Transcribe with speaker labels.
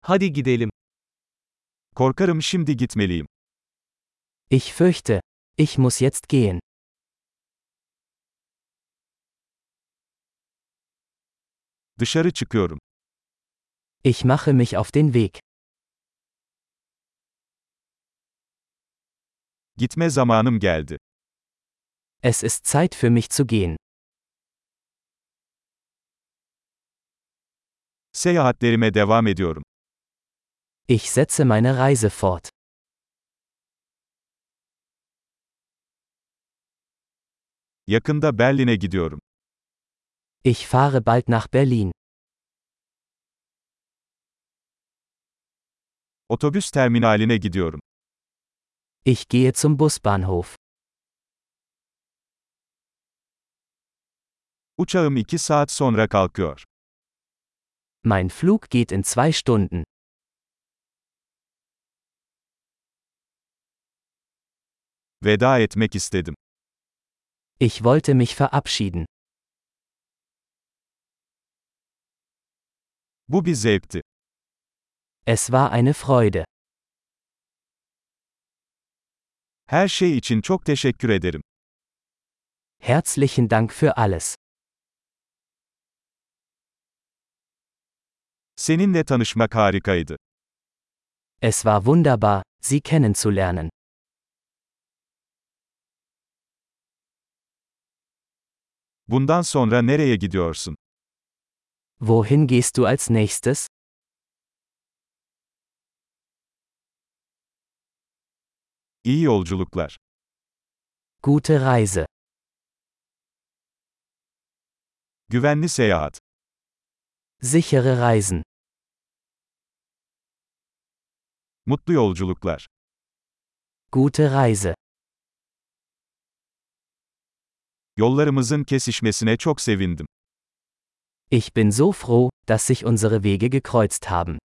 Speaker 1: Hadi gidelim.
Speaker 2: Korkarım şimdi gitmeliyim.
Speaker 3: Ich fürchte, ich muss jetzt gehen.
Speaker 2: Dışarı çıkıyorum.
Speaker 3: Ich mache mich auf den Weg.
Speaker 2: Gitme zamanım geldi.
Speaker 3: Es ist Zeit für mich zu gehen.
Speaker 2: Seyahatlerime devam ediyorum.
Speaker 3: Ich setze meine Reise fort.
Speaker 2: Yakında Berlin'e gidiyorum.
Speaker 3: Ich fahre bald nach Berlin.
Speaker 2: Otobüs terminaline gidiyorum.
Speaker 3: Ich gehe zum Busbahnhof.
Speaker 2: Uçağım 2 saat sonra kalkıyor.
Speaker 3: Mein Flug geht in 2 Stunden.
Speaker 2: Veda etmek istedim.
Speaker 3: Ich wollte mich verabschieden.
Speaker 2: Bu bir zevkti.
Speaker 3: Es war eine Freude.
Speaker 2: Her şey için çok teşekkür ederim.
Speaker 3: Herzlichen Dank für alles.
Speaker 2: Seninle tanışmak harikaydı.
Speaker 3: Es war wunderbar, Sie kennenzulernen.
Speaker 2: Bundan sonra nereye gidiyorsun?
Speaker 3: Wohin gehst du als nächstes?
Speaker 2: İyi yolculuklar.
Speaker 3: Gute Reise.
Speaker 2: Güvenli seyahat.
Speaker 3: Sichere Reisen.
Speaker 2: Mutlu yolculuklar.
Speaker 3: Gute Reise.
Speaker 2: Yollarımızın kesişmesine çok sevindim.
Speaker 3: Ich bin so froh, dass sich unsere Wege gekreuzt haben.